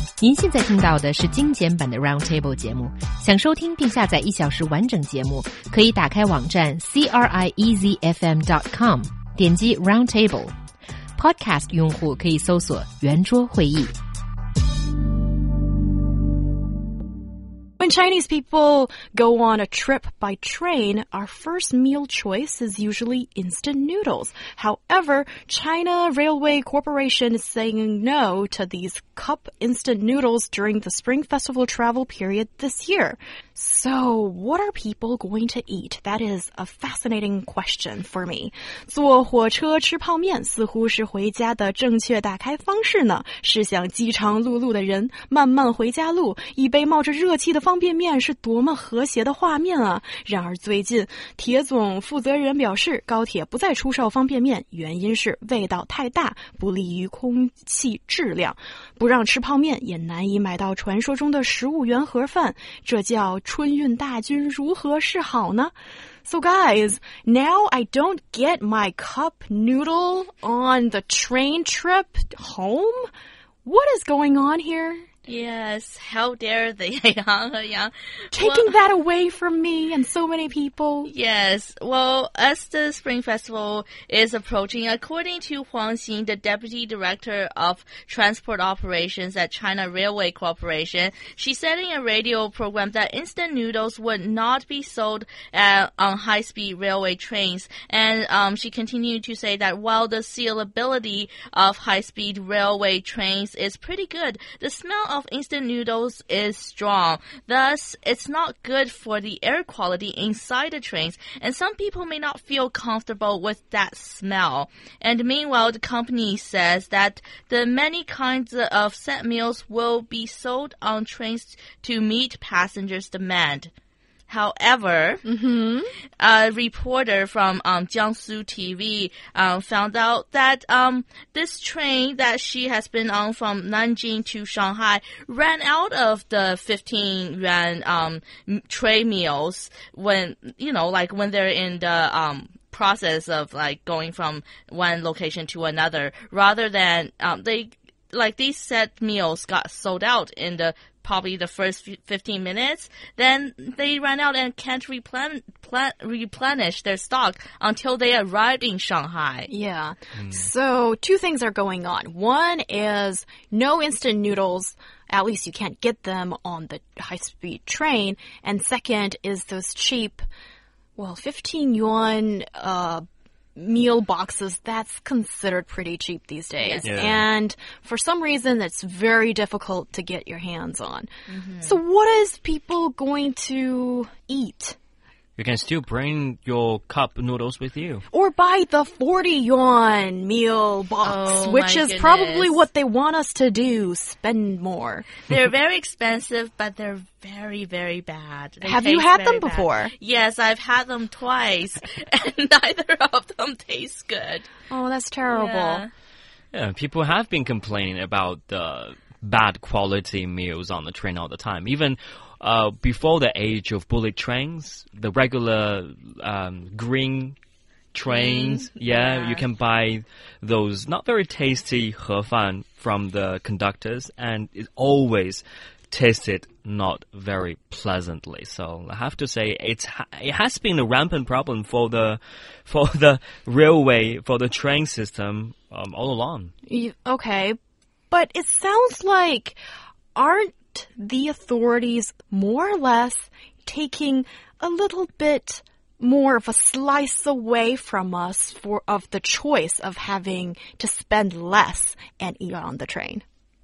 您现在听到的是精简版的 Roundtable 节目。想收听并下载1小时完整节目，可以打开网站 CRIEZFM.com， 点击 Roundtable。Podcast 用户可以搜索圆桌会议。 When Chinese people go on a trip by train, our first meal choice is usually instant noodles. However, China Railway Corporation is saying no to these cup instant noodles during the Spring Festival travel period this year. So, what are people going to eat? That is a fascinating question for me. 坐火车吃泡面似乎是回家的正确打开方式呢。试想饥肠辘辘的人慢慢回家路，一杯冒着热气的方便面是多么和谐的画面啊！然而最近，铁总负责人表示，高铁不再出售方便面，原因是味道太大，不利于空气质量。不让吃泡面，也难以买到传说中的15元盒饭，这叫春运大军如何是好呢？ So guys, now I don't get my cup noodle on the train trip home? What is going on here? Yes, how dare they, Taking that away from me and so many people. Yes, well, as the Spring Festival is approaching, according to Huang Xin, the Deputy Director of Transport Operations at China Railway Corporation, she said in a radio program that instant noodles would not be sold on high-speed railway trains. And she continued to say that while the sealability of high-speed railway trains is pretty good, the smell of instant noodles is strong. Thus, it's not good for the air quality inside the trains, and some people may not feel comfortable with that smell. And meanwhile, the company says that the many kinds of set meals will be sold on trains to meet passengers' demand. However, a reporter from Jiangsu TV found out that this train that she has been on from Nanjing to Shanghai ran out of the 15 yuan tray meals when, when they're in the process of like going from one location to another, rather than these set meals got sold out in probably the first 15 minutes, then they ran out and can't replenish their stock until they arrived in Shanghai. Yeah. So 2 things are going on. One is no instant noodles. At least you can't get them on the high-speed train. And second is those cheap, 15 yuan meal boxes. That's considered pretty cheap these days. Yeah. And for some reason, it's very difficult to get your hands on. So what is people going to eat? You can still bring your cup noodles with you. Or buy the 40 yuan meal box, which is probably what they want us to do, spend more. They're very expensive, but they're very, very bad. Have you had them before? Yes, I've had them twice, and neither of them taste good. Oh, that's terrible. Yeah, people have been complaining about the bad quality meals on the train all the time. Even before the age of bullet trains, the regular green trains, you can buy those not very tasty 盒饭 from the conductors, and it always tasted not very pleasantly. So I have to say it has been a rampant problem for the railway, for the train system all along. Okay, but it sounds like aren't the authorities more or less taking a little bit more of a slice away from us of the choice of having to spend less and eat on the train?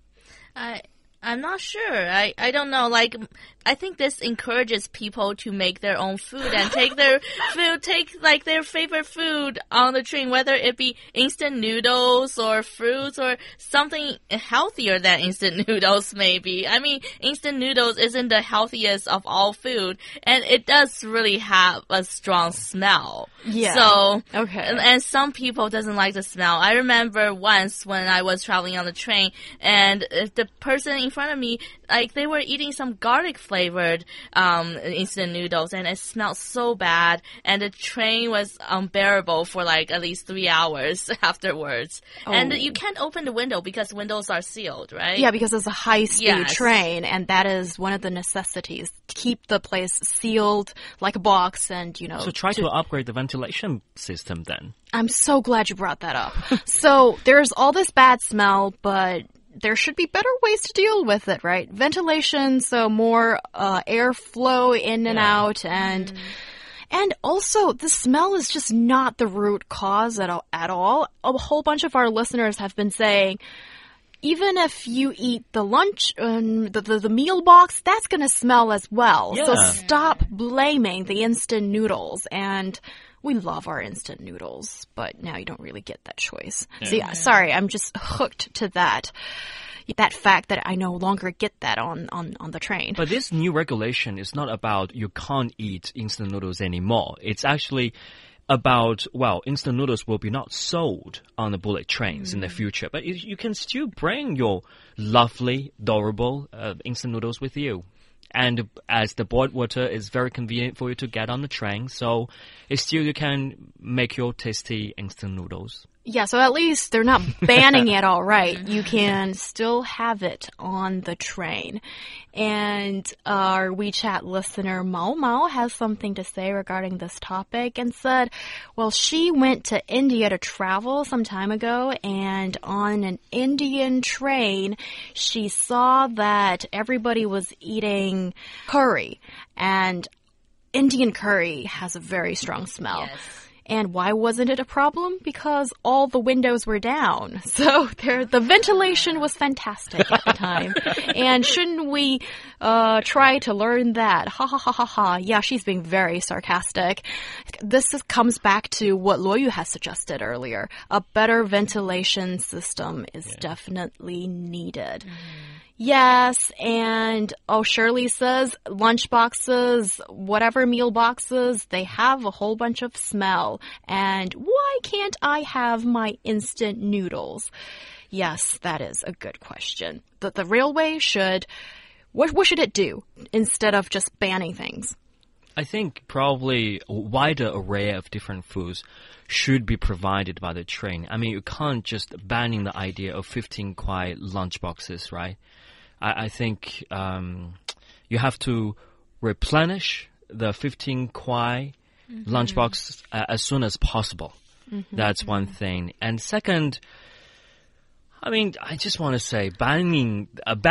I'm not sure. I don't know. I think this encourages people to make their own food and take their favorite food on the train, whether it be instant noodles or fruits or something healthier than instant noodles, maybe. I mean, instant noodles isn't the healthiest of all food, and it does really have a strong smell. Yeah. So, okay. And some people doesn't like the smell. I remember once when I was traveling on the train, and the person in front of me, like they were eating some garlic flavored instant noodles, and it smelled so bad, and the train was unbearable for like at least 3 hours afterwards. And you can't open the window because windows are sealed, right? Yeah, because it's a high-speed train, and that is one of the necessities. Keep the place sealed like a box, and, you know... So try to upgrade the ventilation system then. I'm so glad you brought that up. So there's all this bad smell, but there should be better ways to deal with it, right? Ventilation, so more airflow in and out, and also the smell is just not the root cause at all. A whole bunch of our listeners have been saying, even if you eat the lunch, the meal box, that's going to smell as well. Yeah. So stop blaming the instant noodles. And we love our instant noodles, but now you don't really get that choice. Yeah. So yeah, sorry, I'm just hooked to that fact that I no longer get that on the train. But this new regulation is not about you can't eat instant noodles anymore. It's actually about, well, instant noodles will be not sold on the bullet trains in the future, but you can still bring your lovely, adorable instant noodles with you. And as the boiled water is very convenient for you to get on the train, so you can make your tasty instant noodles. Yeah, so at least they're not banning it all right. You can still have it on the train. And our WeChat listener Mao Mao has something to say regarding this topic and said, well, she went to India to travel some time ago, and on an Indian train, she saw that everybody was eating curry, and Indian curry has a very strong smell. Yes. And why wasn't it a problem? Because all the windows were down. So the ventilation was fantastic at the time. And shouldn't we try to learn that? Ha ha ha ha ha. Yeah, she's being very sarcastic. This comes back to what Luoyu has suggested earlier. A better ventilation system is definitely needed. Yes, and Shirley says lunch boxes, whatever meal boxes, they have a whole bunch of smell. And why can't I have my instant noodles? Yes, that is a good question. The railway should, what should it do instead of just banning things? I think probably a wider array of different foods should be provided by the train. I mean, you can't just banning the idea of 15 kwai lunch boxes, right? I think you have to replenish the 15 kwai lunchbox as soon as possible. That's one thing. And second, I mean, I just want to say banning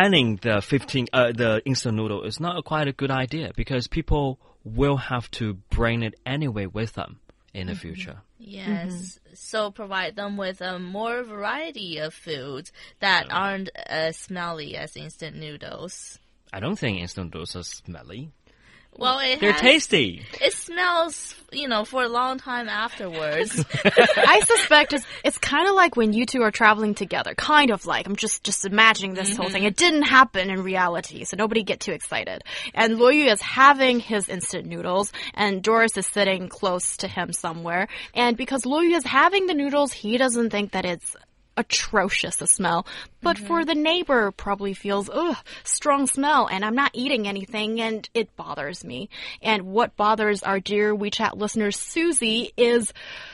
the instant noodle is not quite a good idea, because people will have to bring it anyway with them in the future. Yes, so provide them with a more variety of foods that aren't as smelly as instant noodles. I don't think instant noodles are smelly. Well, they're tasty. It smells, for a long time afterwards. I suspect it's kind of like when you two are traveling together. Kind of like. I'm just imagining this whole thing. It didn't happen in reality, so nobody get too excited. And Luoyu is having his instant noodles, and Doris is sitting close to him somewhere. And because Luoyu is having the noodles, he doesn't think that it's atrocious a smell, but for the neighbor probably feels strong smell, and I'm not eating anything and it bothers me. And what bothers our dear WeChat listener Susie is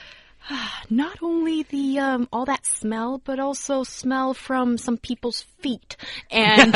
not only the all that smell, but also smell from some people's feet. And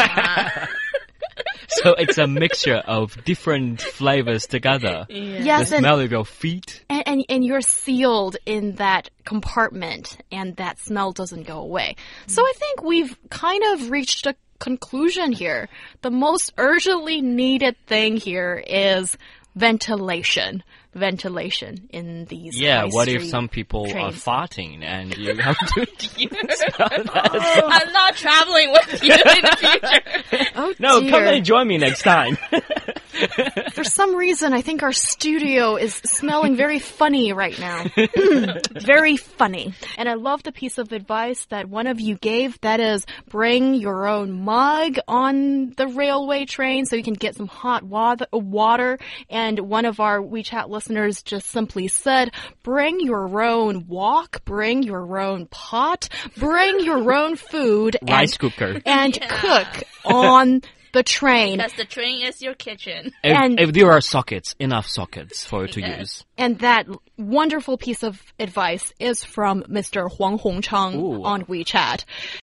so it's a mixture of different flavors together. Yes, the smell of your feet. And you're sealed in that compartment, and that smell doesn't go away. So I think we've kind of reached a conclusion here. The most urgently needed thing here is ventilation. Ventilation in these what if some people trains. are farting and you have to smell that? I'm not traveling with you in the future. Oh, No, dear. come and join me next time. For some reason, I think our studio is smelling very funny right now. Very funny. And I love the piece of advice that one of you gave. That is, bring your own mug on the railway train so you can get some hot water. And one of our WeChat listeners just simply said, bring your own wok, bring your own pot, bring your own food. Rice cooker. And cook on the train. Because the train is your kitchen. If there are sockets, enough sockets for you to use. And that wonderful piece of advice is from Mr. Huang Hongcheng on WeChat.